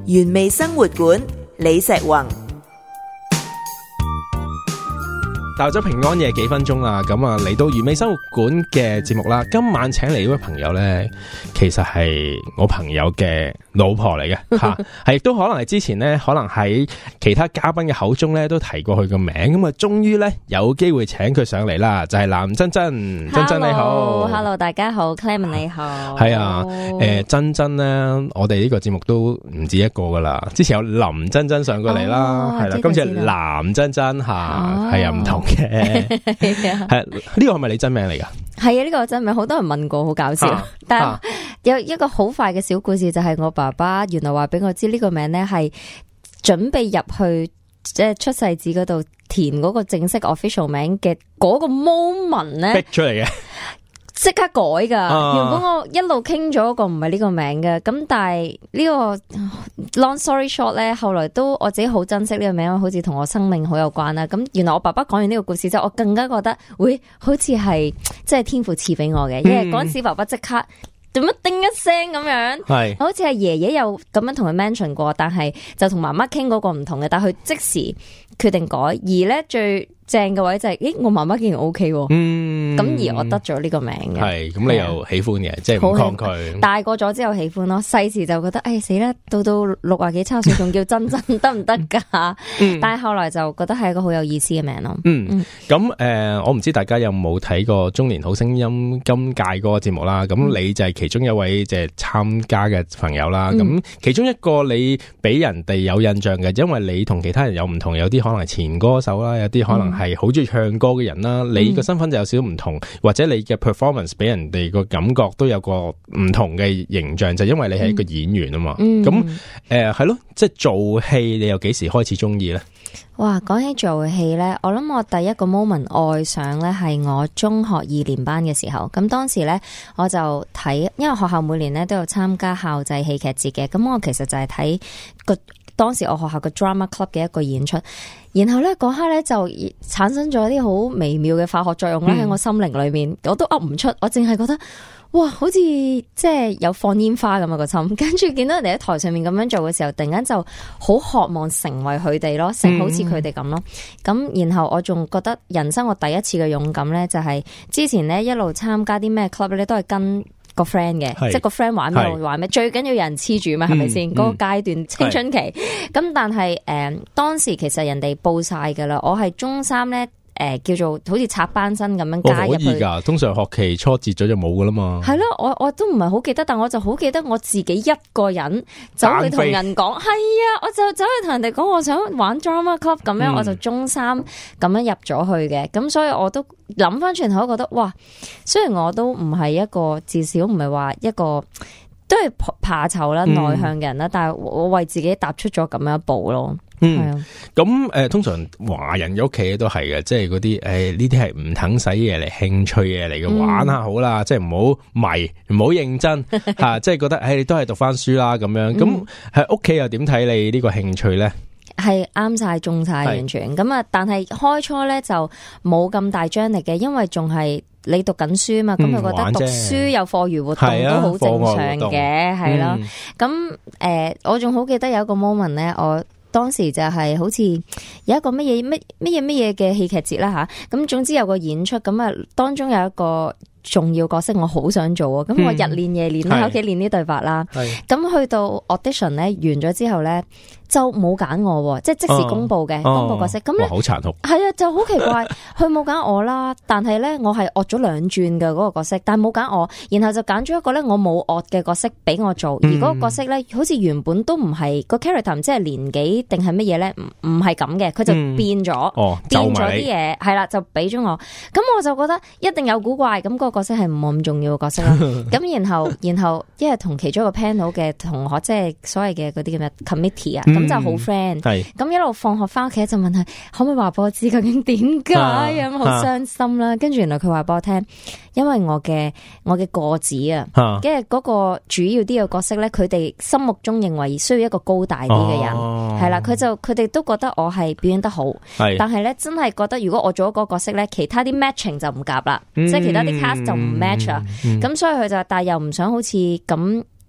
原味生活館李石宏。 到咗平安夜幾分鐘啦，咁啊嚟到原味生活館嘅節目啦。今晚請嚟呢位朋友咧，其實係我朋友嘅老婆嚟嘅吓，係亦都可能係之前咧，可能喺其他嘉賓嘅口中咧都提過佢個名，咁啊終於咧有機會請佢上嚟啦，就係藍珍珍。珍珍你好 ，Hello 大家好 ，Clement 你好， 係啊，珍珍咧，我哋呢個節目都唔止一個噶啦，之前有林珍珍上過嚟啦，係啦，今次係藍珍珍吓，係啊唔同。係呢個係咪你真名嚟噶？ 係啊，呢個真名，好多人問過，好搞笑。但係有一個好快嘅小故事，就係我爸爸原來話俾我知呢個名咧係準備入去即係出世紙嗰度填嗰個正式 official 名嘅嗰個 moment 咧逼出嚟嘅。 即刻改噶，原本我一路傾咗個唔係呢個名嘅，咁但係呢個 long story short 咧，後來都我自己好珍惜呢個名，好似同我生命好有關啦。咁原來我爸爸講完呢個故事之後，我更加覺得會好似係即係天父賜俾我嘅，因為嗰陣時爸爸即刻做乜叮一聲咁樣，係好似係爺爺有咁樣同佢 mention 過，但係就同媽媽傾嗰個唔同嘅，但係佢即時決定改，而咧最正嘅位就係，咦，我媽媽竟然 OK 喎，咁而我得咗呢個名嘅，係咁你又喜歡嘅，即係唔抗拒。大個咗之後喜歡咯，細時就覺得，哎死啦，到60幾70歲仲叫珍珍得唔得噶？但係後來就覺得係一個好有意思嘅名咯。咁我唔知大家有冇睇過中年好聲音今屆嗰個節目啦？咁你就係其中一位即係參加嘅朋友啦。咁其中一個你俾人哋有印象嘅，因為你同其他人有唔同，有啲可能係前歌手啦，有啲可能係好中意唱歌嘅人啦，你個身份就有少少唔同，或者你嘅 performance 俾人哋個感覺都有個唔同嘅形象，就因為你係一個演員啊嘛。咁係咯，即係做戲，你又幾時開始中意咧？ 哇，講起做戲咧，我諗我第一個 moment 愛上咧係我中學2年班嘅時候。咁當時咧我就睇，因為學校每年咧都有參加校際戲劇節嘅，咁我其實就係睇當時我學校嘅 drama club 嘅一個演出，然後咧嗰刻咧就產生咗啲好微妙嘅化學作用咧喺我心靈裏面，我都噏唔出，我淨係覺得哇，好似即係有放煙花咁啊個心，跟住見到人哋喺台上面咁樣做嘅時候，突然間就好渴望成為佢哋咯，成好似佢哋咁咯。咁然後我仲覺得人生我第一次嘅勇敢咧，就係之前咧一路參加啲咩 club 咧，都係跟個 friend 嘅，即係個 friend 玩咩我玩咩，最緊要有人黐住嘛，係咪先？嗰個階段青春期，咁但係當時其實人哋報晒噶啦，我係中3咧。叫做好似插班生咁樣加入去。可以噶，通常學期初截咗就冇噶啦嘛。係咯，我都唔係好記得，但我就好記得我自己一個人走去同人講，係啊，我就走去同人哋講我想玩 drama club 咁樣，我就中3咁樣入咗去嘅。咁所以我都諗翻轉頭，覺得哇，雖然我都唔係一個，至少唔係話一個都係怕醜啦、內向嘅人啦，但係我為自己踏出咗咁樣一步咯。 咁通常華人嘅屋企都係嘅，即係嗰啲呢啲係唔等使嘢嚟，興趣嘢嚟嘅，玩下好啦，即係唔好迷，唔好認真吓，即係覺得你都係讀翻書啦咁樣。咁喺屋企又點睇你呢個興趣咧？ 係啱晒中晒完全咁啊！但係開初咧就冇咁大張力嘅，因為仲係你讀緊書嘛，咁佢覺得讀書有課餘活動都好正常嘅，係咯。咁我仲好記得有一個 moment 咧，我當時就係好似有一個乜嘢嘅戲劇節啦吓，咁總之有個演出，咁啊當中有一個重要角色我好想做啊，咁我日練夜練喺屋企練啲對白啦，咁去到 audition 咧完咗之後咧就冇揀我，即係即時公布嘅公布角色，咁咧好殘酷，係啊，就好奇怪，佢冇揀我啦，但係咧我係惡咗2轉嘅嗰個角色，但係冇揀我，然後就揀咗一個咧我冇惡嘅角色俾我做，而嗰個角色咧好似原本都唔係個 character， 唔知係年紀定係乜嘢咧，唔係咁嘅，佢就變咗，變咗啲嘢，係啦，就俾咗我，咁我就覺得一定有古怪，咁嗰個角色係唔係咁重要嘅角色啦，咁然後因為同其中一個 panel 嘅同學，即係所謂嘅嗰啲叫咩 committee 啊。咁就好 friend， 咁一路放學翻屋企就問佢可唔可以話俾我知究竟點解咁好傷心啦。跟住原來佢話俾我聽，因為我嘅個子啊，跟住嗰個主要啲嘅角色咧，佢哋心目中認為需要一個高大啲嘅人，係啦，佢哋都覺得我係表演得好，但係咧真係覺得如果我做咗嗰個角色咧，其他啲 matching 就唔夾啦，即係其他啲 cast 就唔 match 啊，咁所以佢就但係又唔想好似咁。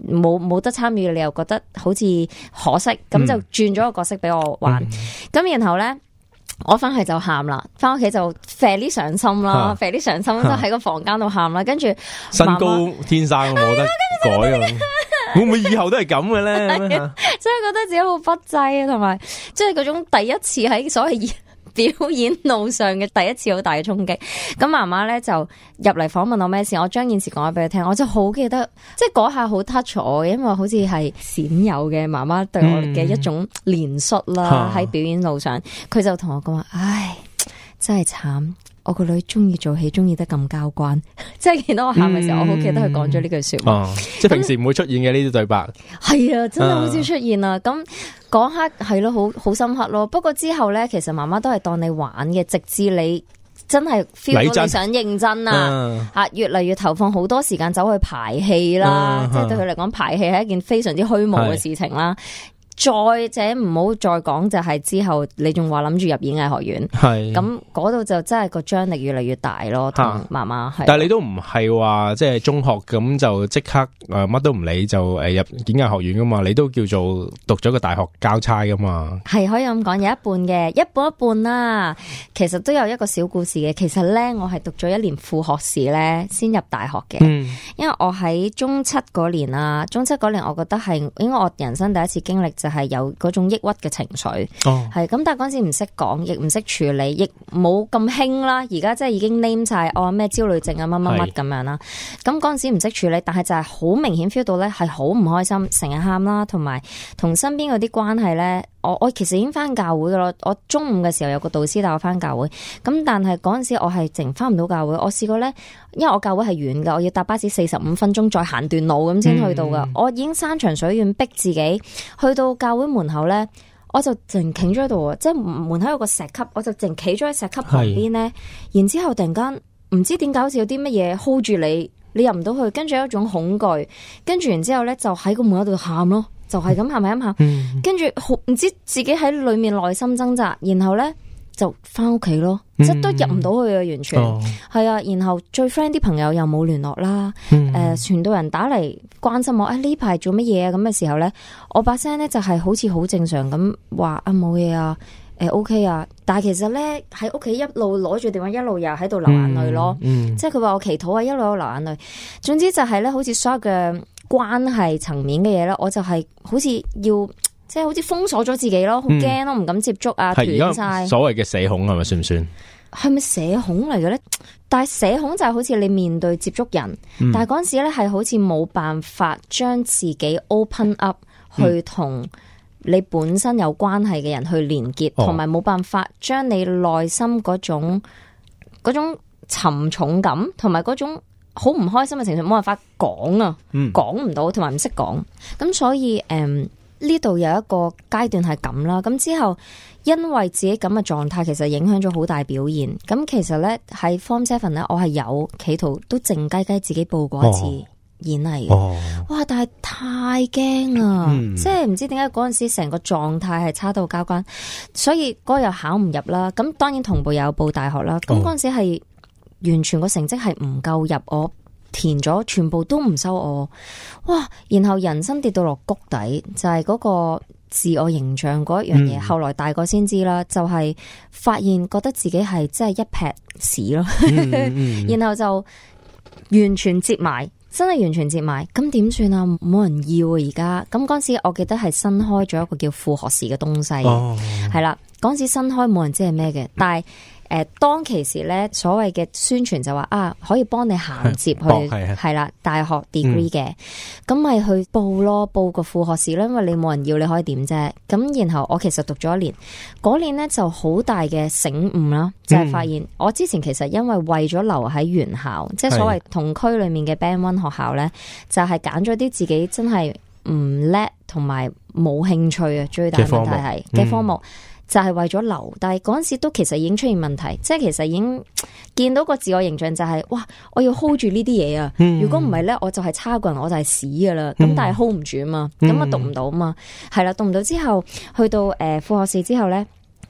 冇得參與，你又覺得好似可惜，咁就轉咗個角色俾我玩。咁然後咧，我翻去就喊啦，翻屋企就啡啲上心啦，啡啲上心就喺個房間度喊啦。跟住身高天生冇得改啊！會唔會以後都係咁嘅咧？真係覺得自己好不濟啊，同埋即係嗰種第一次喺所謂表演路上嘅第一次好大嘅衝擊。咁媽媽咧就入嚟訪問我咩事，我將件事講咗俾佢聽，我就好記得，即係嗰下好 touch 我嘅，因為好似係鮮有嘅媽媽對我嘅一種憐恤啦。喺表演路上，佢就同我講話：唉，真係慘。我個女中意做戲，中意得咁交關，即係見到我喊嘅時候，我好記得佢講咗呢句說話。 即係平時唔會出現嘅呢啲對白。係啊，真係好少出現啊！咁嗰刻係咯，好深刻咯。不過之後咧，其實媽媽都係當你玩嘅，直至你真係 feel 到你想認真啊，越嚟越投放好多時間走去排戲啦。即係對佢嚟講，排戲係一件非常之虛無嘅事情啦。再者唔好再講，就係之後你仲話諗住入演藝學院，係咁嗰度就真係個張力越嚟越大咯。同媽媽係，但係你都唔係話即係中學咁就即刻乜都唔理就入演藝學院噶嘛？你都叫做讀咗個大學交叉噶嘛？ 係可以咁講，有一半嘅，一半一半啦。其實都有一個小故事嘅。其實咧，我係讀咗1年副學士咧，先入大學嘅。因為我喺中七嗰年啦，中七嗰年我覺得係應該我人生第一次經歷。就係有嗰種抑鬱嘅情緒，係咁，但係嗰陣時唔識講，亦唔識處理，亦冇咁興啦。而家即係已經 name 晒咩焦慮症啊，乜乜乜咁樣啦。咁嗰陣時唔識處理，但係就係好明顯 feel 到咧，係好唔開心，成日喊啦，同埋同身邊嗰啲關係咧。我其實已經翻教會噶咯，我中午嘅時候有個導師帶我翻教會，咁但係嗰陣時我係淨翻唔到教會。我試過咧，因為我教會係遠噶，我要搭巴士45分鐘再行段路咁先去到噶。我已經山長水遠逼自己去到教會門口咧，我就淨企咗喺度啊，即係門口有個石級，我就淨企咗喺石級旁邊咧。然之後突然間唔知點解好似有啲乜嘢 hold 住你，你入唔到去，跟住有一種恐懼，跟住然之後咧就喺個門口度喊咯。就係咁喊咪咁喊，跟住唔知自己喺裏面內心掙扎，然後咧就翻屋企咯，即係都入唔到去啊，完全係啊。然後最 friend 啲朋友又冇聯絡啦，傳道人打嚟關心我，呢排做乜嘢啊？咁嘅時候咧，我把聲咧就係好似好正常咁話啊，冇嘢啊，OK 啊。但係其實咧喺屋企一路攞住電話，一路又喺度流眼淚咯，即係佢話我祈禱啊，一路都流眼淚。總之就係咧，好似所有嘅關係層面嘅嘢咧，我就係好似要即係好似封鎖咗自己咯，好驚咯，唔敢接觸啊，斷晒。所謂嘅社恐係咪算唔算？係咪社恐嚟嘅咧？但係社恐就係好似你面對接觸人，但係嗰陣時咧係好似冇辦法將自己 open up 去同你本身有關係嘅人去連結，同埋冇辦法將你內心嗰種沉重感同埋嗰種好唔開心嘅情緒冇辦法講啊，講唔到，同埋唔識講。咁所以呢度有一個階段係咁啦。咁之後因為自己咁嘅狀態，其實影響咗好大表現。咁其實咧喺 Form 7咧，我係有企圖都靜雞雞自己報過一次演藝嘅。哇！但係太驚啦，即係唔知點解嗰陣時成個狀態係差到交關，所以嗰日又考唔入啦。咁當然同步有報大學啦。咁嗰陣時係完全個成績係唔夠入，我填咗全部都唔收我，哇！然後人生跌到落谷底，就係嗰個自我形象嗰一樣嘢。後來大個先知啦，就係發現覺得自己係真係一撇屎咯，然後就完全接埋，真係完全接埋。咁點算啊？冇人要啊！而家咁嗰陣時，我記得係新開咗一個叫副學士嘅東西，係啦。嗰陣時新開冇人知係咩嘅，但係當其時咧，所謂嘅宣傳就話可以幫你銜接去係啦大學 degree 嘅，咁咪去報咯，報個副學士咧，因為你冇人要，你可以點啫？咁然後我其實讀咗1年，嗰年咧就好大嘅醒悟啦，就係發現我之前其實因為咗留喺原校，即係所謂同區裏面嘅 Band 1學校咧，就係揀咗啲自己真係唔叻同埋冇興趣啊，最大問題係嘅科目。就係為咗留低，嗰陣時都其實已經出現問題，即係其實已經見到個自我形象就係哇，我要 hold 住呢啲嘢啊！如果唔係咧，我就係差個人，我就係屎噶啦。咁但係 hold 唔住啊嘛，咁啊讀唔到啊嘛，係啦，讀唔到之後，去到副學士之後咧，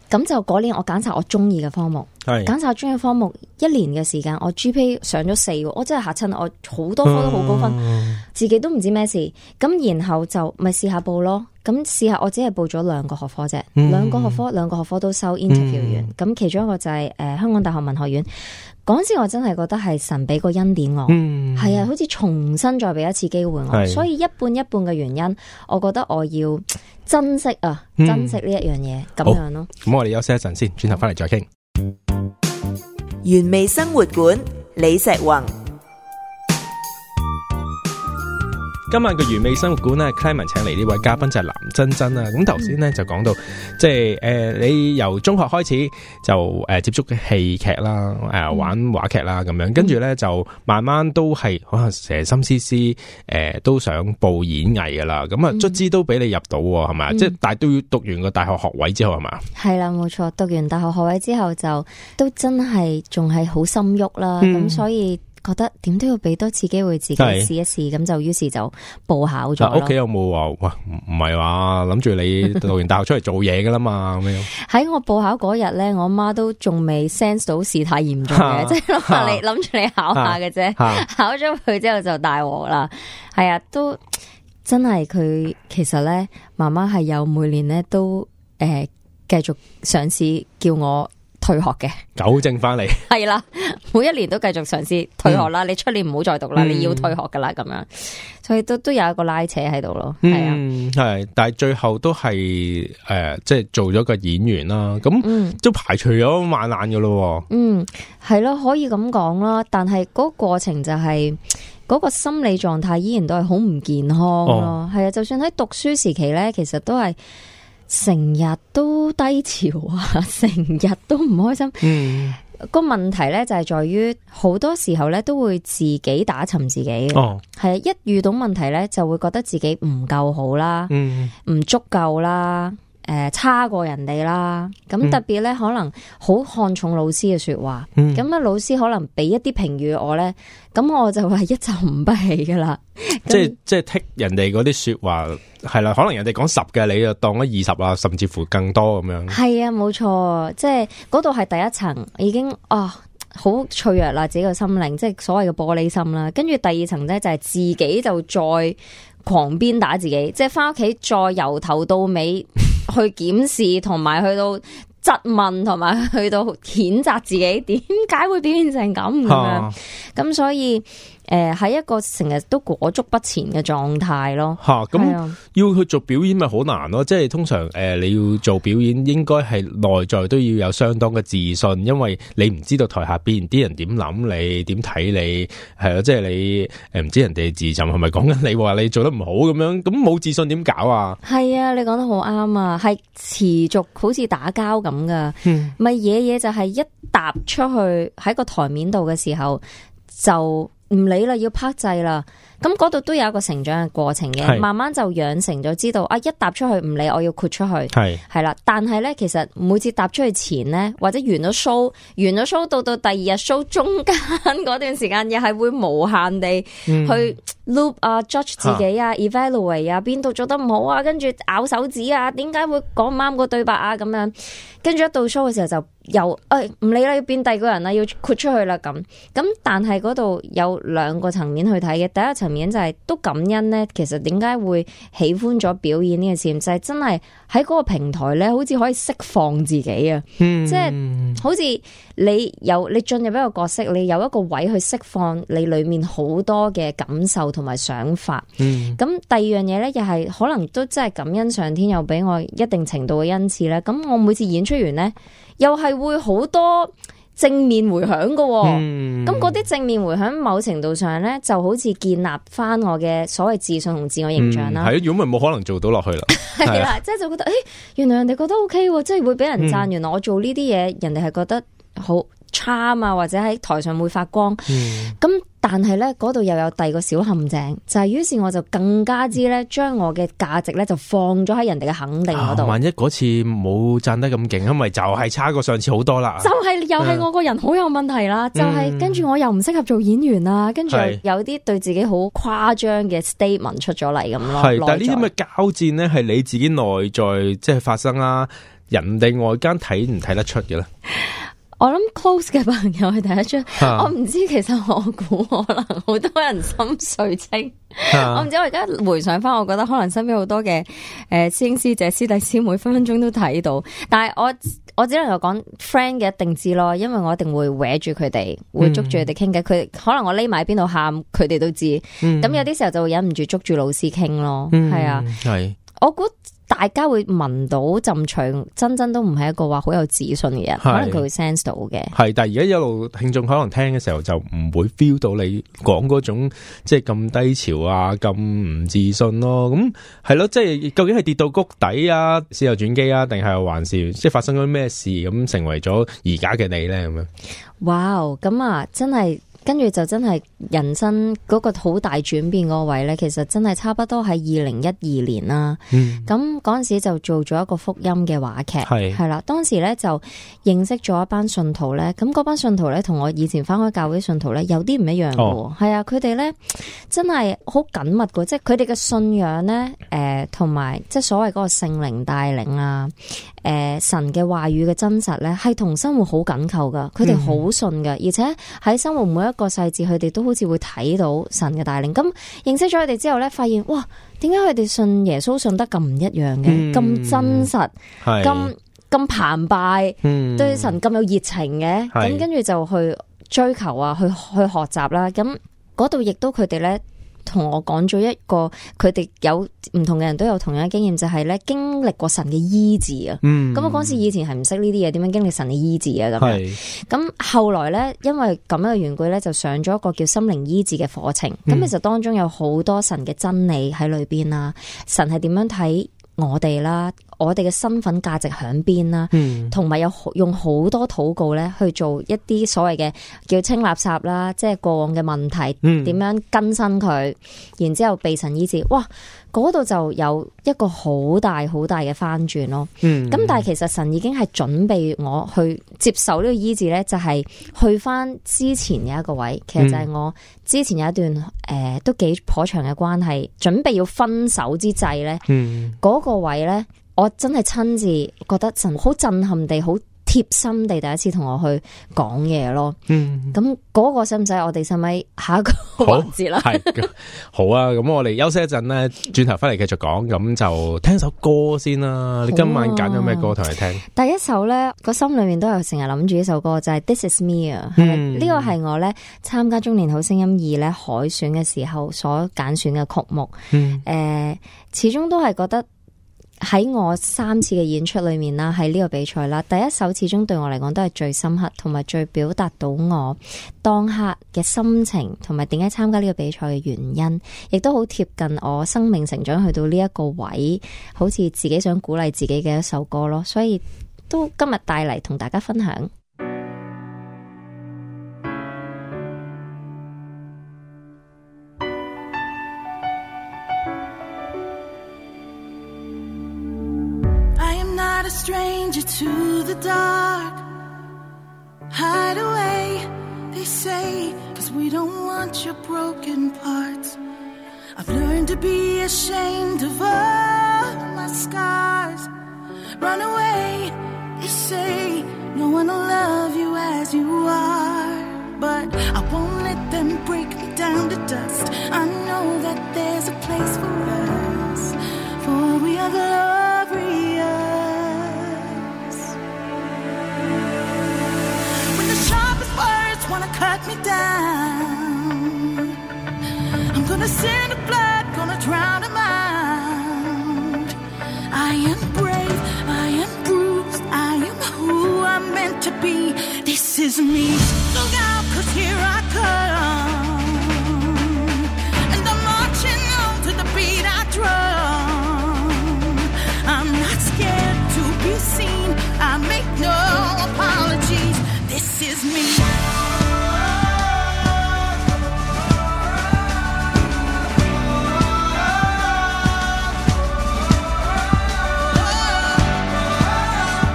咁就嗰年我揀晒我中意嘅科目，揀晒中意嘅科目，1年嘅時間我 GPA 上咗4，我真係嚇親，我好多科都好高分，自己都唔知咩事。咁然後就咪試下報咯。咁試下，我只係報咗2個學科啫，兩個學科都收 interview 完。咁其中一個就係香港大學文學院。嗰陣時我真係覺得係神俾個恩典我，係啊，好似重新再俾一次機會我。所以一半一半嘅原因，我覺得我要珍惜珍惜呢一樣嘢咁樣咯。 咁我哋休息一陣先，轉頭翻嚟再傾。 原味生活館李石宏。 今晚嘅原味生活館咧 Clement 請嚟呢位嘉賓就係藍珍珍啦。咁頭先咧就講到，即係你由中學開始就接觸嘅戲劇啦，玩話劇啦咁樣，跟住咧就慢慢都係可能成心思思都想報演藝噶啦。咁啊卒之都俾你入到係咪？即係但係都要讀完個大學學位之後係嘛？係啦，冇錯，讀完大學學位之後就都真係仲係好心喐啦。咁所以覺得點都要俾多次機會自己試一試，咁就於是就報考咗咯。屋企有冇話哇唔係話諗住你讀完大學出嚟做嘢噶啦嘛？咁樣喺我報考嗰日咧，我媽都仲未 sense 到事態嚴重嘅，即係諗住你考下嘅啫。考咗佢之後就大鑊啦。係啊，都真係佢其實咧，媽媽係有每年咧都繼續嘗試叫我退學嘅，糾正翻嚟係啦，每一年都繼續嘗試退學啦。你出年唔好再讀啦，你要退學噶啦，咁樣，所以都有一個拉扯喺度咯。係啊，係，但係最後都係即係做咗個演員啦。咁都排除咗萬難噶咯。係咯，可以咁講啦。但係嗰個過程就係嗰個心理狀態依然都係好唔健康咯。係啊，就算喺讀書時期咧，其實都係成日都低潮啊，成日都唔開心。個問題咧就係在於好多時候咧都會自己打沉自己嘅。係啊，一遇到問題咧就會覺得自己唔夠好啦，唔足夠啦，差過人哋啦。咁特別咧可能好看重老師嘅說話，咁啊老師可能俾一啲評語我咧，咁我就係一沉不起噶啦。即係剔人哋嗰啲說話係啦，可能人哋講10嘅，你就當咗20啊，甚至乎更多咁樣。係啊，冇錯，即係嗰度係第一層，已經好脆弱啦，自己個心靈，即係所謂嘅玻璃心啦。跟住第二層咧就係自己就再狂鞭打自己，即係翻屋企再由頭到尾去檢視，同埋去到質問，同埋去到譴責自己，點解會表現成咁樣？咁所以喺一個成日都裹足不前嘅狀態咯。咁要去做表演咪好難咯？即係通常你要做表演，應該係內在都要有相當嘅自信，因為你唔知道台下邊啲人點諗你，點睇你，係咯，即係你唔知人哋自尋係咪講緊你話你做得唔好咁樣，咁冇自信點搞啊？係啊，你講得好啱啊，係持續好似打交咁噶，咪嘢就係一踏出去喺個台面度嘅時候就唔理啦，要拍掣啦。咁嗰度都有一個成長嘅過程嘅，慢慢就養成咗知道一踏出去唔理，我要豁出去，係啦。但係咧，其實每次踏出去前咧，或者完咗 show 到第二日 show 中間嗰段時間，又係會無限地去 loop judge 自己evaluate 邊度做得唔好啊，跟住咬手指啊，點解會講唔啱個對白啊，咁樣。跟住一到 show 嘅時候就又唔理啦，要變第二個人啦，要豁出去啦咁。但係嗰度有2個層面去睇嘅，第一層面就係都感恩咧。其實點解會喜歡咗表演呢個事，就係真係喺嗰個平台咧，好似可以釋放自己啊！即係好似你進入一個角色，你有一個位去釋放你裏面好多嘅感受同埋想法。咁第二樣嘢咧，又係可能都真係感恩上天又俾我一定程度嘅恩賜咧。咁我每次演出完咧，又係會好多正面回響噶，咁嗰啲正面回響某程度上咧，就好似建立翻我嘅所謂自信同自我形象啦。係，如果唔係冇可能做到落去啦。係啦，即係就覺得，原來人哋覺得 OK，即係會俾人讚。原來我做呢啲嘢，人哋係覺得好 charm 啊，或者喺台上會發光。咁但係咧，嗰度又有第二個小陷阱，就係於是我就更加之咧，將我嘅價值咧就放咗喺人哋嘅肯定嗰度。萬一嗰次冇讚得咁勁，因為就係差過上次好多啦。就係又係我個人好有問題啦，就係跟住我又唔適合做演員啦，跟住有啲對自己好誇張嘅 statement 出咗嚟咁咯。係，但係呢啲咁嘅交戰咧，係你自己內在即係發生啦。 人哋外間睇唔睇得出嘅咧？ 我諗 close 嘅朋友係睇得出，我唔知，其實我估可能好多人心水清，我唔知，我而家回想翻，我覺得可能身邊好多嘅師兄師姐師弟師妹分分鐘都睇到，但係我只能夠講 friend 嘅一定知咯，因為我一定會搲住佢哋，會捉住佢哋傾偈，佢可能我匿埋喺邊度喊，佢哋都知，咁有啲時候就會忍唔住捉住老師傾咯，係啊，係，我估大家會聞到陣除，真都唔係一個話好有自信嘅人，可能佢會 sense 到嘅。係，但係而家一路聽眾可能聽嘅時候就唔會 feel 到你講嗰種即係咁低潮啊，咁唔自信咯。咁係咯，即係究竟係跌到谷底啊，事後轉機啊，定係還是即係發生咗咩事咁成為咗而家嘅你咧？咁樣，哇，咁啊，真係。跟住就真係人生嗰個好大轉變嗰位咧，其實真係差不多喺2012年啦。咁嗰陣時就做咗一個福音嘅話劇，係啦。當時咧就認識咗一班信徒咧，咁嗰班信徒咧同我以前返開教會信徒咧有啲唔一樣嘅，係啊，佢哋咧真係好緊密嘅，即係佢哋嘅信仰咧，同埋即係所謂嗰個聖靈帶領啊，神嘅話語嘅真實咧，係同生活好緊扣噶，佢哋好信噶，而且喺生活每一個細節，佢哋都好似會睇到神嘅帶領。咁認識咗佢哋之後咧，發現哇，點解佢哋信耶穌信得咁唔一樣嘅，咁真實，咁澎湃，對神咁有熱情嘅，咁跟住就去追求啊，去學習啦。咁嗰度亦都佢哋咧。同我講咗一個，佢哋有唔同嘅人都有同樣嘅經驗，就係咧經歷過神嘅醫治啊。咁我嗰時以前係唔識呢啲嘢，點樣經歷神嘅醫治啊？咁樣，咁後來咧，因為咁樣嘅緣故咧，就上咗一個叫心靈醫治嘅課程。咁其實當中有好多神嘅真理喺裏邊啦，神係點樣睇我哋啦，我哋嘅身份價值喺邊啦，同埋有用好多禱告咧去做一啲所謂嘅叫清垃圾啦，即係過往嘅問題點樣更新佢，然之後被神醫治，哇！嗰度就有一個好大好大嘅翻轉咯。咁但係其實神已經係準備我去接受呢個醫治咧，就係去翻之前嘅一個位，其實就係我之前有一段都幾頗長嘅關係，準備要分手之際咧，嗰個位咧，我真係親自覺得神好震撼地好貼心地第一次同我去講嘢咯，咁嗰個使唔使我哋使咪下一個環節啦？係好啊，咁我哋休息一陣咧，轉頭翻嚟繼續講，咁就聽首歌先啦。你今晚揀咗咩歌同你聽？第一首咧，個心裏面都有成日諗住呢首歌，就係 This Is Me 啊。呢個係我咧參加中年好聲音2咧海選嘅時候所揀選嘅曲目。始終都係覺得。喺我3次嘅演出裏面啦，喺呢個比賽啦，第一首始終對我嚟講都係最深刻，同埋最表達到我當刻嘅心情，同埋點解參加呢個比賽嘅原因，亦都好貼近我生命成長去到呢一個位，好似自己想鼓勵自己嘅一首歌咯，所以都今日帶嚟同大家分享。 A stranger to the dark. Hide away, they say, 'cause we don't want your broken parts. I've learned to be ashamed of all my scars. Run away, they say, no one will love you as you are. But I won't let them break me down to dust. I know that there's a place for us, for we are glorious. Wanna cut me down, I'm gonna send the blood, gonna drown them out. I am brave, I am bruised, I am who I'm meant to be. This is me. Look out, 'cause here I come, and I'm marching on to the beat I drum. I'm not scared to be seen, I make no apologies. This is me.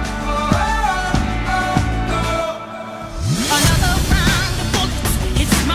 It's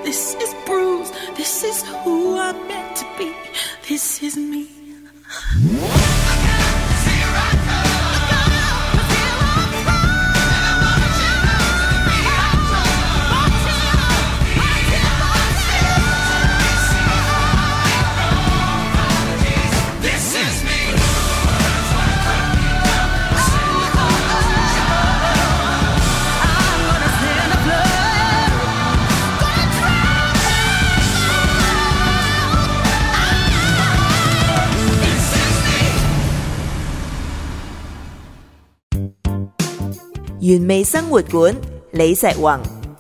this is bruised. This is who I'm meant to be. This is me. 原味生活館李石宏。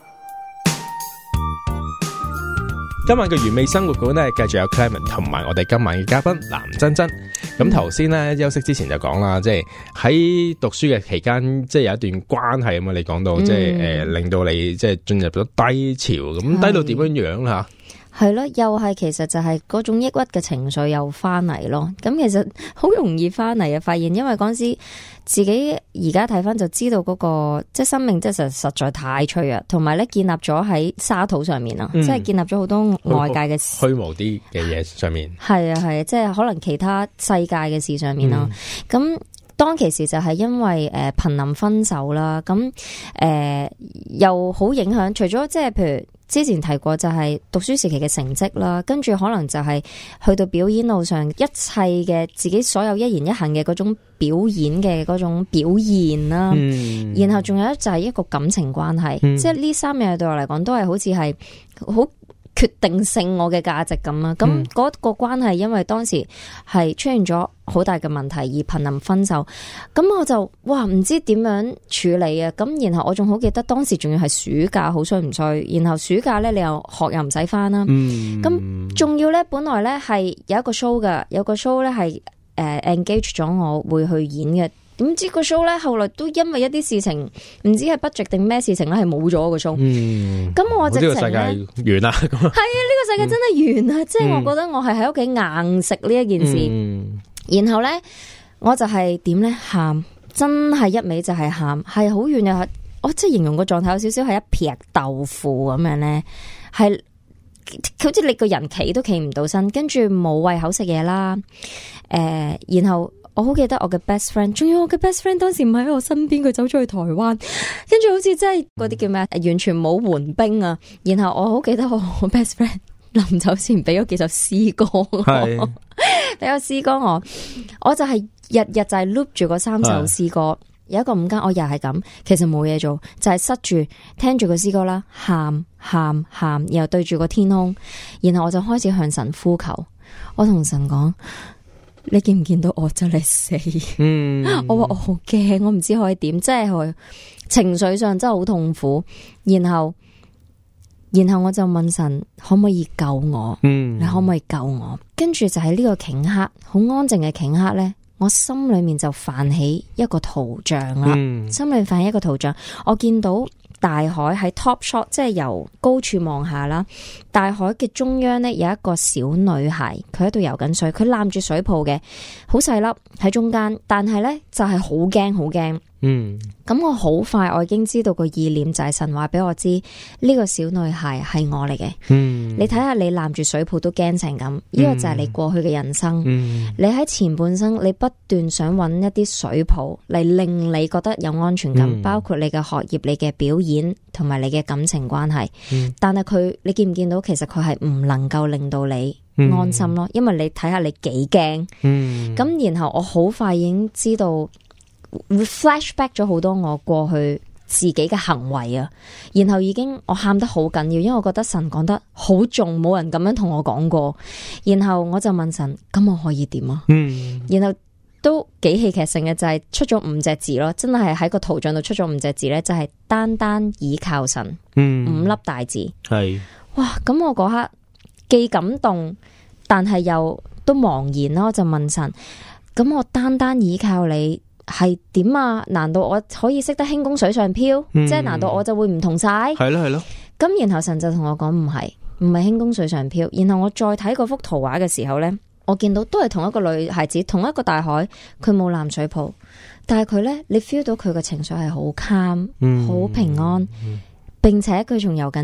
今晚嘅原味生活館咧，繼續有 Clement 同埋我哋今晚嘅嘉賓藍珍珍。咁頭先咧休息之前就講啦，即係喺讀書嘅期間，即係有一段關係啊嘛。你講到即係令到你即係進入咗低潮，咁低到點樣樣啦？ 係咯，又係其實就係嗰種抑鬱嘅情緒又翻嚟咯。咁其實好容易翻嚟啊！發現因為嗰陣時自己而家睇翻就知道嗰個即係生命，即係實在太脆弱，同埋咧建立咗喺沙土上面啊，即係建立咗好多外界嘅虛無啲嘅嘢上面。係啊係啊，即係可能其他世界嘅事上面啦。咁當其時就係因為瀕臨分手啦，咁又好影響。除咗即係譬如之前提過，就係讀書時期嘅成績啦，跟住可能就係去到表演路上一切嘅自己所有一言一行嘅嗰種表演嘅嗰種表現啦。然後仲有就係一個感情關係，即係呢三樣對我嚟講都係好似係好決定性我嘅價值咁啊。咁嗰個關係因為當時係出現咗好大嘅問題而瀕臨分手，咁我就哇唔知點樣處理啊！咁然後我仲好記得當時仲要係暑假，好衰唔衰？然後暑假咧你又學又唔使返啦，咁仲要咧本來咧係有一個 show 嘅，有個 show 咧係engage 咗我會去演嘅。點知個 show 咧後來都因為一啲事情，唔知係 budget 定咩事情咧係冇咗個 show。咁我直情呢個世界完啦。係啊，呢個世界真係完啦！即係我覺得我係喺屋企硬食呢一件事。然後咧，我就係點咧喊，真係一味就係喊，係好遠又我即係形容個狀態有少少係一撇豆腐咁樣咧，係好似你個人企都企唔到身，跟住冇胃口食嘢啦。然後我好記得我嘅 best friend， 仲有我嘅 best friend 當時唔喺我身邊，佢走咗去台灣，跟住好似真係嗰啲叫咩，完全冇援兵啊。然後我好記得我 best friend 臨走前俾咗幾首詩歌，俾個詩歌我就係日日就係 loop 住嗰3首詩歌。有一個午間我又係咁，其實冇嘢做，就係塞住聽住個詩歌啦，喊，然後對住個天空，然後我就開始向神呼求。我同神講：你見唔見到我真係死？我話我好驚，我唔知可以點，即係我情緒上真係好痛苦。然後我就問神可唔可以救我？你可唔可以救我？跟住就喺呢個頃刻，好安靜嘅頃刻咧，我心裏面就泛起一個圖像啦。心裏面泛起一個圖像，我見到大海喺 top shot， 即係由高處望下啦。大海嘅中央呢，有一個小女孩，佢喺度游緊水，佢攬住水泡嘅，好細粒喺中間，但係呢，就係好驚好驚。咁我好快我已經知道個意念就係神話俾我知呢個小女孩係我嚟嘅。你睇下你攬住水泡都驚成咁，呢個就係你過去嘅人生。你喺前半生你不斷想揾一啲水泡嚟令你覺得有安全感，包括你嘅學業、你嘅表演同埋你嘅感情關係。但係你見唔見到其實佢係唔能夠令到你安心咯，因為你睇下你幾驚。咁然後我好快已經知道flashback 咗好多我過去自己嘅行為啊，然後已經我喊得好緊要，因為我覺得神講得好重，冇人咁樣同我講過。然後我就問神：咁我可以點啊？然後都幾戲劇性嘅，就係出咗5隻字咯，真係喺個圖像度出咗5隻字咧，就係單單倚靠神。5粒大字係哇！咁我嗰刻既感動，但係又都茫然咯。我就問神：咁我單單倚靠你係點啊？難道我可以識得輕功水上漂？即係難道我就會唔同晒？係咯。咁然後神就同我講：唔係輕功水上漂。然後我再睇嗰幅圖畫嘅時候呢，我見到都係同一個女孩子，同一個大海，佢冇攬水泡，但係佢呢，你 feel 到佢嘅情緒係好 calm，好平安，並且佢仲游緊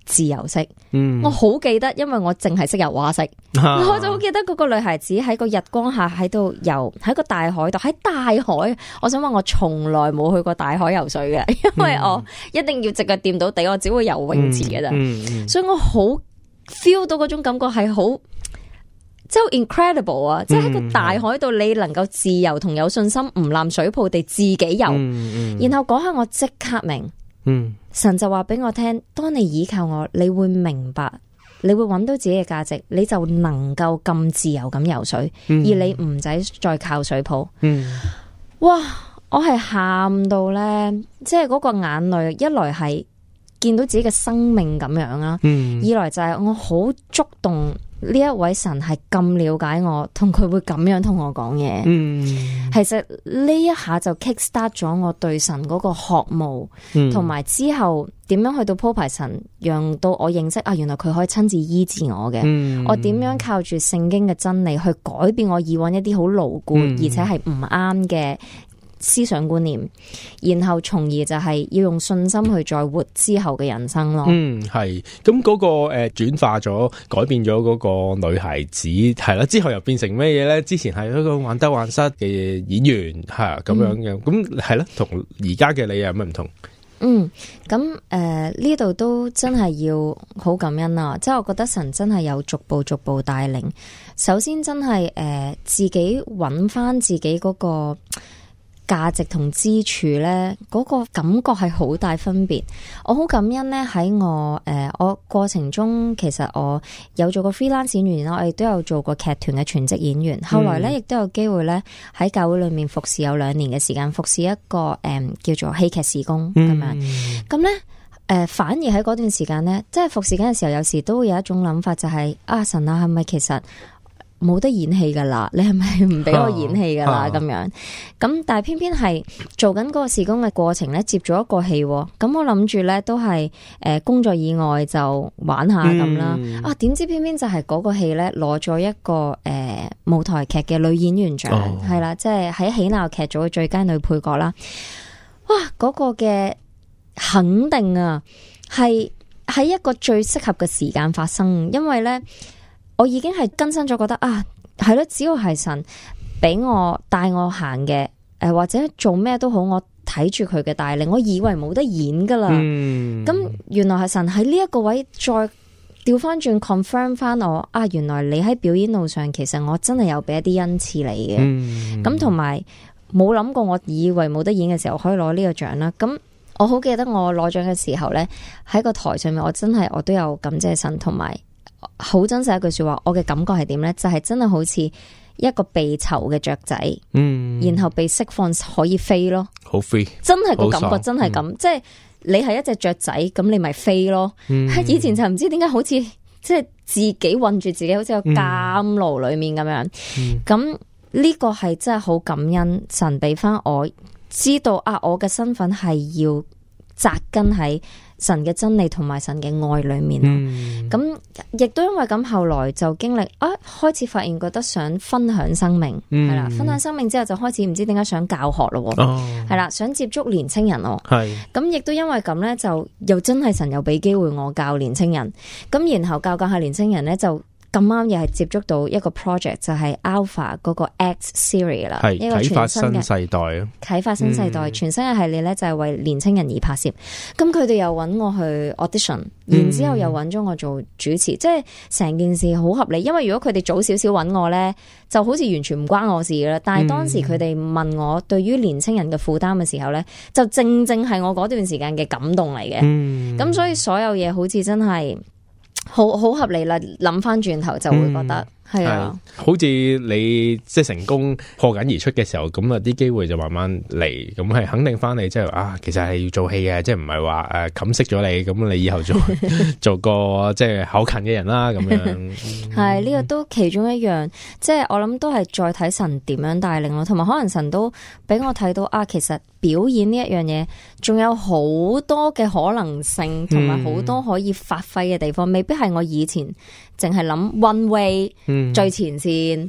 自由式。我好記得，因為我淨係識游蛙式，我就好記得嗰個女孩子喺個日光下喺度游，喺個大海度，喺大海。我想話我從來冇去過大海游水嘅，因為我一定要直腳掂到地，我只會游泳池嘅咋。所以我好 feel 到嗰種感覺係好。即係 incredible 啊！即係喺個大海度，你能夠自由同有信心，唔攬水泡地自己游。然後嗰刻我即刻明，神就話俾我聽：當你依靠我，你會明白，你會揾到自己嘅價值，你就能夠咁自由咁游水，而你唔使再靠水泡。哇！我係喊到咧，即係嗰個眼淚，一來係見到自己嘅生命咁樣啦，二來就係我好觸動。呢一位神係咁了解我，同佢會咁樣同我講嘢。其實呢一下就 kick start 咗我對神嗰個渴慕，同埋之後點樣去到鋪排神，讓到我認識啊，原來佢可以親自醫治我嘅。我點樣靠住聖經嘅真理去改變我以往一啲好牢固，而且係唔啱嘅思想觀念，然後從而就係要用信心去再活之後嘅人生咯。 係咁嗰個轉化咗，改變咗嗰個女孩子係啦，之後又變成咩嘢咧？之前係一個患得患失嘅演員係咁樣嘅，咁係啦，同而家嘅你有咩唔同？ 咁呢度都真係要好感恩啊！即係我覺得神真係有逐步帶領。首先真係自己揾翻自己嗰個價值同支柱咧，嗰個感覺係好大分別。我好感恩咧，喺我過程中，其實我有做過 freelance 演員啦，我亦都有做過劇團嘅全職演員。後來咧，亦都有機會咧喺教會裏面服侍有2年嘅時間，服侍一個叫做戲劇事工咁樣。咁咧反而喺嗰段時間咧，即係服侍緊嘅時候，有時都會有一種諗法，就係神啊，係咪其實冇得演戲噶啦？你係咪唔俾我演戲噶啦？咁樣咁，但係偏偏係做緊嗰個事工嘅過程咧，接咗一個戲，咁我諗住咧都係工作以外就玩下咁啦。點知偏偏就係嗰個戲咧攞咗一個舞台劇嘅女演員獎，係啦，即係喺喜鬧劇組嘅最佳女配角啦。哇！嗰個嘅肯定啊，係喺一個最適合嘅時間發生，因為咧。我已經係更新咗，覺得係咯，只要係神俾我帶我行嘅，或者做咩都好，我睇住佢嘅帶領，我以為冇得演噶啦。咁原來係神喺呢一個位再調翻轉 confirm 翻我，原來你喺表演路上，其實我真係有俾一啲恩賜你嘅。咁同埋冇諗過，我以為冇得演嘅時候可以攞呢個獎啦。咁我好記得我攞獎嘅時候呢，喺個台上面，我都有感謝神，同埋。好真實一句說話，我嘅感覺係點呢？就係真係好似一個被囚嘅雀仔，然後被釋放可以飛咯，好 free，真係個感覺真係咁，即係你係一隻雀仔，咁你咪飛咯。以前就唔知點解好似即係自己困住自己，好似個監牢裏面咁樣。咁呢個係真係好感恩神俾翻我知道我嘅身份係要扎根喺神嘅真理同埋神嘅愛裏面。咁亦都因為咁，後來就經歷開始發現覺得想分享生命，係啦，分享生命之後就開始唔知點解想教學咯，係啦，想接觸年青人咯，係咁亦都因為咁咧，就又真係神又俾機會我教年青人，咁然後教下年青人咧就。咁啱又係接觸到一個 project， 就係 Alpha 嗰個 X Series 啦，一個全新嘅啟發新世代啊！啟發新世代全新嘅系列咧，就係為年青人而拍攝。咁佢哋又揾我去 audition，然之後又揾咗我做主持，即係成件事好合理。因為如果佢哋早少少揾我咧，就好似完全唔關我事噶啦。但係當時佢哋問我對於年青人嘅負擔嘅時候咧，就正正係我嗰段時間嘅感動嚟嘅。咁所以所有嘢好似真係。好合理啦，諗翻轉頭就會覺得係啊， 好似你即係成功破緊而出嘅時候，咁啲機會就慢慢嚟，咁係肯定翻你，即係其實係要做戲嘅，即係唔係話冚熄咗你，咁你以後做個即係考勤嘅人啦，咁樣係呢個都其中一樣，即係我諗都係再睇神點樣帶領咯，同埋可能神都俾我睇到其實表演呢一樣嘢仲有好多嘅可能性，同埋好多可以發揮嘅地方，未必係我以前淨係諗 one way。最前線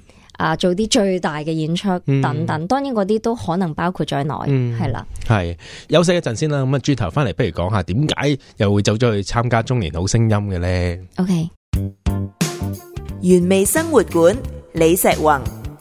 做啲最大嘅演出等等，當然嗰啲都可能包括在內，係啦。 係休息一陣先啦，咁啊轉頭翻嚟，不如講下點解又會走咗去參加中年好聲音嘅咧 ？OK， 原味生活館李石宏。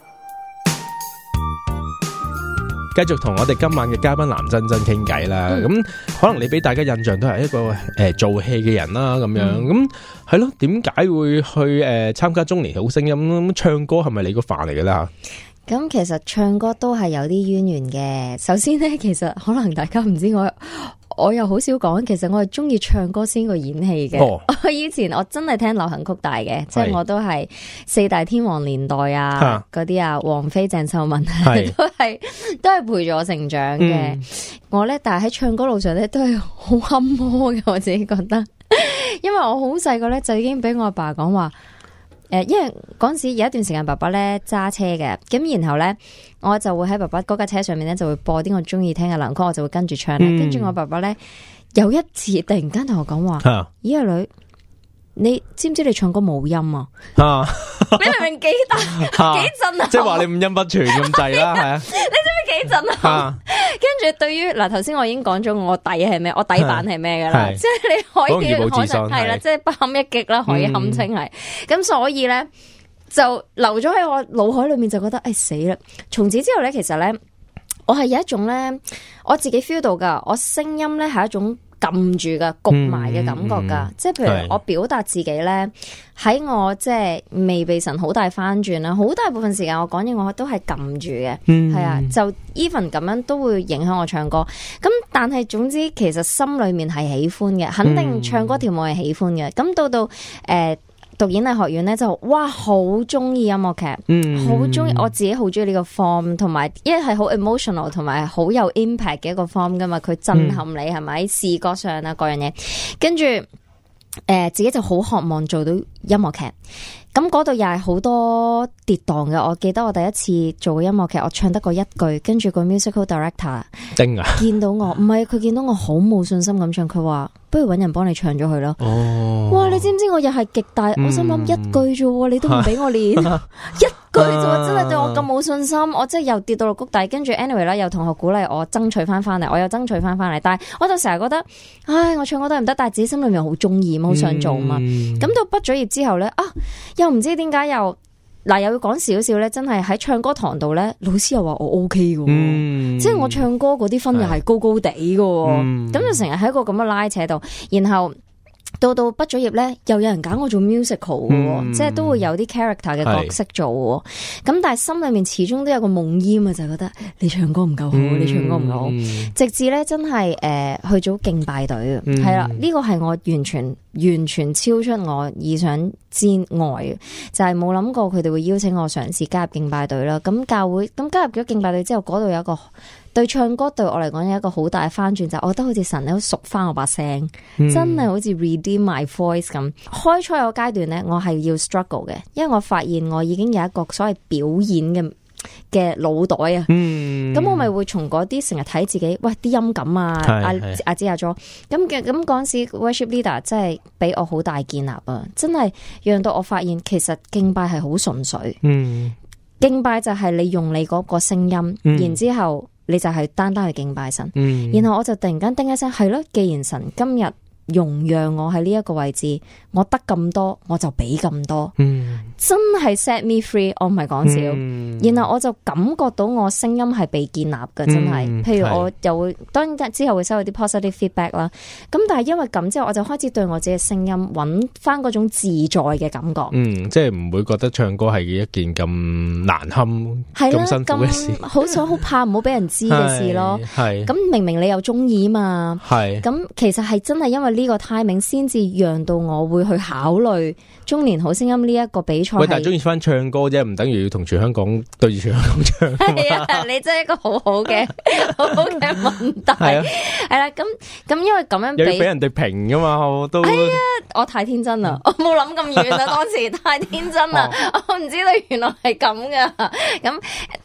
繼續同我哋今晚嘅嘉賓藍真真傾偈啦，咁可能你俾大家印象都係一個做戲嘅人啦，咁樣咁係咯，點解會去參加中年好聲音？咁唱歌係咪你個範嚟嘅啦？ 咁其實唱歌都係有啲淵源嘅。首先咧，其實可能大家唔知我又好少講，其實我係中意唱歌先過演戲嘅。我以前我真係聽流行曲大嘅，即係我都係四大天王年代啊，嗰啲啊，王菲、鄭秀文都係陪住我成長嘅。我咧，但係喺唱歌路上咧都係好坎坷嘅，我自己覺得，因為我好細個咧就已經俾我阿爸講話。因為嗰陣時有一段時間爸爸咧揸車嘅，咁然後咧我就會喺爸爸嗰架車上面咧就會播啲我中意聽嘅流行曲，我就會跟住唱啦。跟住我爸爸咧有一次突然間同我講話：咦，阿女，你知唔知你唱歌冇音啊？你明唔明幾大幾震啊？ 即係話你五音不全咁滯啦，係啊！ 你知唔知幾震啊？跟住對於嗱，頭先我已經講咗我底係咩，我底板係咩噶啦，即係你可以係啦，即係不堪一擊啦，可以堪稱係。咁所以咧就留咗喺我腦海裏面，就覺得死啦！從此之後咧，其實咧我係有一種咧，我自己 feel 到噶，我聲音咧係一種撳住嘅焗埋嘅感覺噶，即係譬如我表達自己咧，喺我即係未被神好大翻轉啦，好大部分時間我講嘢我都係撳住嘅，係啊，就 even 咁樣都會影響我唱歌。咁但係總之其實心裏面係喜歡嘅，肯定唱歌跳舞係喜歡嘅。咁到讀演藝學院咧就哇好中意音樂劇，好中意，我自己好中意呢個 form， 同埋因為係好 emotional 同埋好有 impact 嘅一個 form 噶嘛，佢震撼你係咪？視覺上啊各樣嘢，跟住自己就好渴望做到音樂劇。咁嗰度又係好多跌宕嘅。我記得我第一次做個音樂劇，我唱得過一句，跟住個 musical director 見到我，唔係佢見到我好冇信心咁唱，佢話不如搵人幫你唱咗佢咯。哇！你知唔知我又係極大，我心諗一句啫，你都唔俾我練一句啫，真係對我咁冇信心，我真係又跌到落谷底。跟住 anyway 啦，有同學鼓勵我爭取翻嚟，我又爭取翻嚟，但係我就成日覺得，唉，我唱歌都係唔得，但係自己心裏面好中意，好想做嘛。咁到畢咗業之後咧，又唔知點解又要講少少咧，真係喺唱歌堂度咧，老師又話我 OK 嘅，即係我唱歌嗰啲分又係高高地嘅，咁就成日喺一個咁嘅拉扯度，然後到畢咗業咧，又有人揀我做 musical 嘅，即係都會有啲 character 嘅角色做，咁但係心裏面始終都有個夢魘啊，就係覺得你唱歌唔夠好，你唱歌唔夠好，直至咧真係去咗敬拜隊，係啦，呢個係我完全超出我意想之外，就係冇諗過佢哋會邀請我嘗試加入敬拜隊啦。咁教會咁加入咗敬拜隊之後，嗰度有一個對唱歌對我嚟講有一個好大嘅翻轉，就係我覺得好似神咧熟翻我把聲，真係好似 redeem my voice 咁。開初有個階段咧，我係要 struggle 嘅，因為我發現我已經有一個所謂表演嘅腦袋啊，咁我咪會從嗰啲成日睇自己，喂啲音感啊，阿姐阿咗，咁嗰陣時 worship leader 真係俾我好大建立啊，真係讓到我發現其實敬拜係好純粹，敬拜就係你用你嗰個聲音，然之後你就係單單去敬拜神，然後我就突然間叮一聲，係咯，既然神今日容讓我喺呢一個位置，我得咁多，我就俾咁多，真係 set me free， 我唔係講笑。然後我就感覺到我聲音係被建立嘅，真係。譬如我又會，當然之後會收到啲 positive feedback 啦。咁但係因為咁之後，我就開始對我自己嘅聲音揾翻嗰種自在嘅感覺。即係唔會覺得唱歌係一件咁難堪、咁辛苦嘅事，好怕唔好俾人知嘅事咯。咁明明你又中意嘛，咁其實係真係因為呢個 timing 先至讓到我會去考慮中年好聲音呢一個比賽。喂，但係中意翻唱歌啫，唔等於要同全香港對住全香港唱。係啊，你真係一個好好嘅問題。係啊，係啦，咁因為咁樣俾人哋評噶嘛，我都係啊， 我太天真啦，我冇諗咁遠啊，當時太天真啦，我唔知道原來係咁噶。咁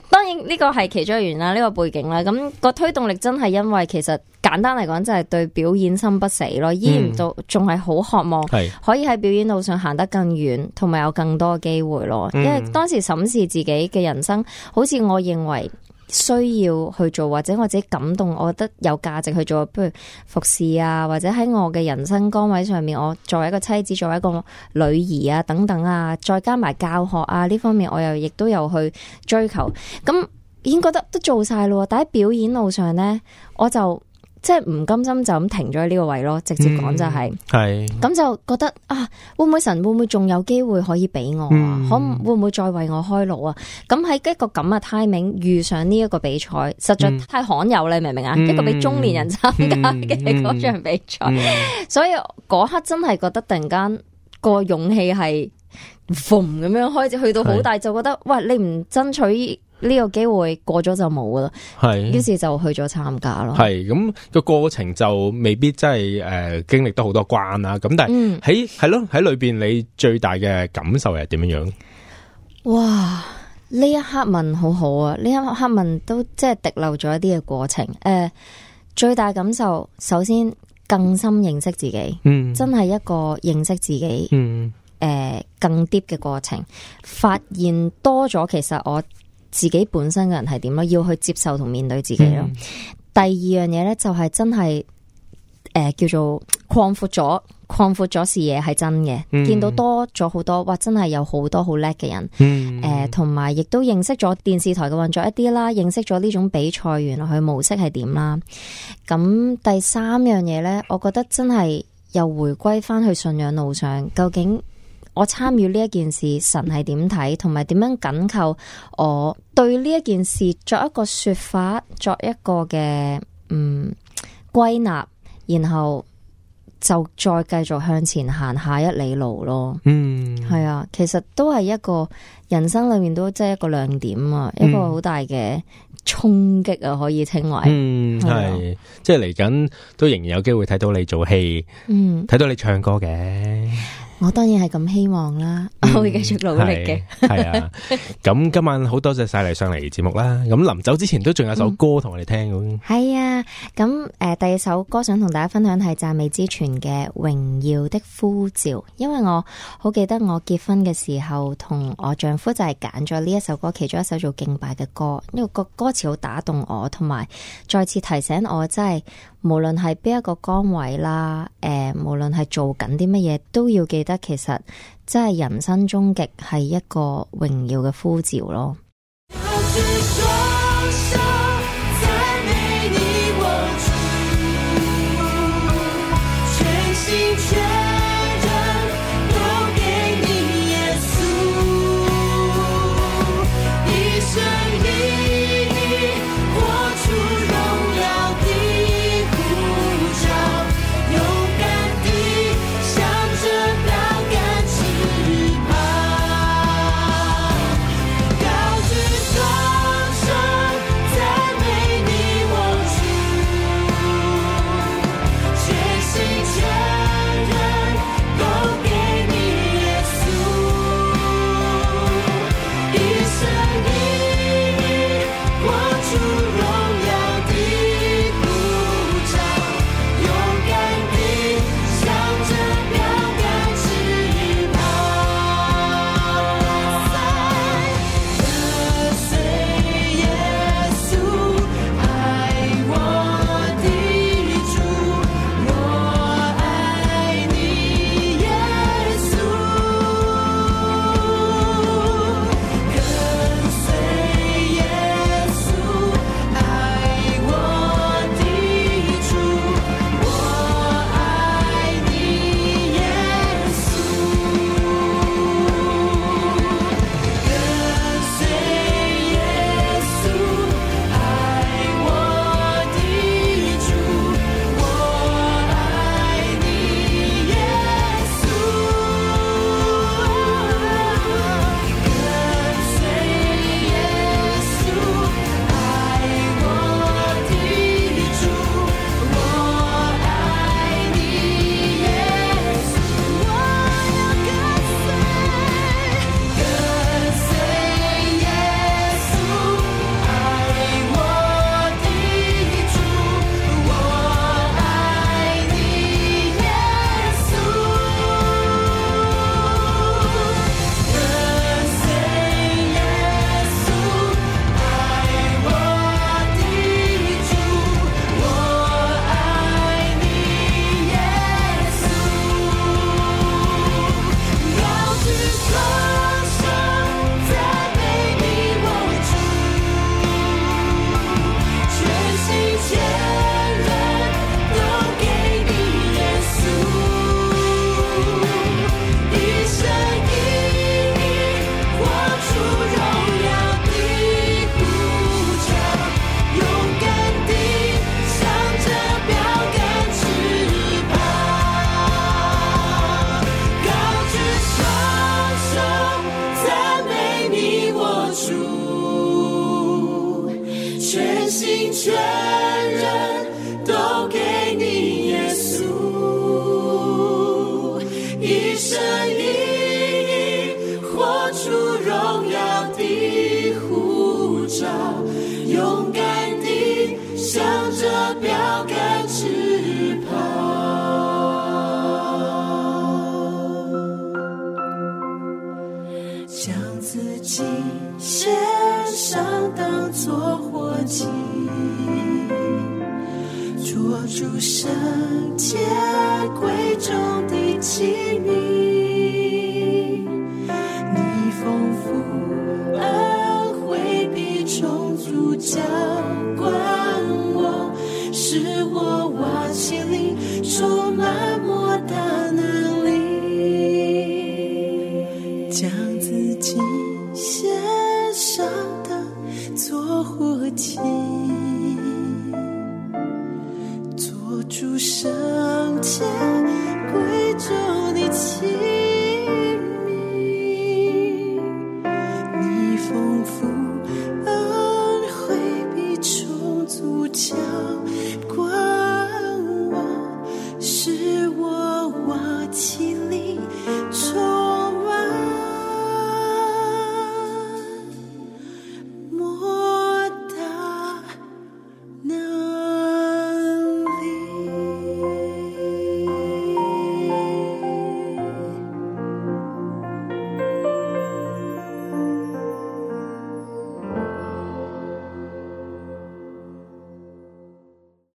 當然呢個係其中一個原因啦，呢個背景啦，咁個推動力真係因為其實簡單嚟講，就係對表演心不死咯，依然都仲係好渴望可以喺表演路上行得更遠，同埋有更多嘅機會咯。因為當時審視自己嘅人生，好似我認為需要去做，或者我自己感動，我覺得有價值去做，譬如服侍啊，或者喺我嘅人生崗位上面，我作為一個妻子，作為一個女兒啊等等啊，再加埋教學啊呢方面，我又亦都有去追求，咁已經覺得都做晒咯。但喺表演路上呢，我就即係唔甘心就咁停咗喺呢個位咯，直接講就係咁就覺得啊，會唔會神會唔會仲有機會可以俾我啊？會唔會再為我開路啊？咁喺一個咁嘅 timing 遇上呢一個比賽，實在太罕有啦，明唔明啊？一個俾中年人參加嘅嗰場比賽，所以嗰刻真係覺得突然間個勇氣係咁樣開始去到好大，就覺得喂，你唔爭取呢個機會過咗就冇噶啦，係，於是就去咗參加咯。係咁個過程就未必真係經歷得好多關啦。咁但係喺裏邊你最大嘅感受係點樣樣？哇！呢一刻問好好啊！呢一刻問都即係滴漏咗一啲嘅過程。最大感受首先更深認識自己，真係一個認識自己，更 deep 嘅過程，發現多咗其實我自己本身嘅人係點咯，要去接受同面對自己咯。第二樣嘢咧就係真係叫做擴闊咗視野係真嘅，見到多咗好多，哇！真係有好多好叻嘅人，同埋亦都認識咗電視台嘅運作一啲啦，認識咗呢種比賽原來佢模式係點啦。咁第三樣嘢咧，我覺得真係又回歸翻去信仰路上，究竟我參與呢一件事，神係點睇，同埋點樣緊扣我對呢一件事作一個說法，作一個嘅歸納，然後就再繼續向前行下一里路咯。係啊，其實都係一個人生裏面都即係一個亮點啊，一個好大嘅衝擊啊，可以稱為。係，即係嚟緊都仍然有機會睇到你做戲，睇到你唱歌嘅。我當然係咁希望啦，我會繼續努力嘅。係啊，咁今晚好多謝晒你上嚟節目啦。咁臨走之前都仲有首歌同我哋聽咁。係啊，咁第二首歌想同大家分享係讚美之泉嘅《榮耀的呼召》，因為我好記得我結婚嘅時候，同我丈夫就係揀咗呢一首歌，其中一首做敬拜嘅歌，因為個歌詞好打動我，同埋再次提醒我，真係無論係邊一個崗位啦，無論係做緊啲乜嘢，都要記得其實真係人生終極係一個榮耀嘅呼召咯。 高祭獻上當作活祭，做主聖潔貴重的器皿，你豐富恩惠必充足澆灌我，使我瓦器裡充滿莫大能力，將自己獻上當作活祭，做主聖潔貴重的器皿，你豐富恩惠必充足澆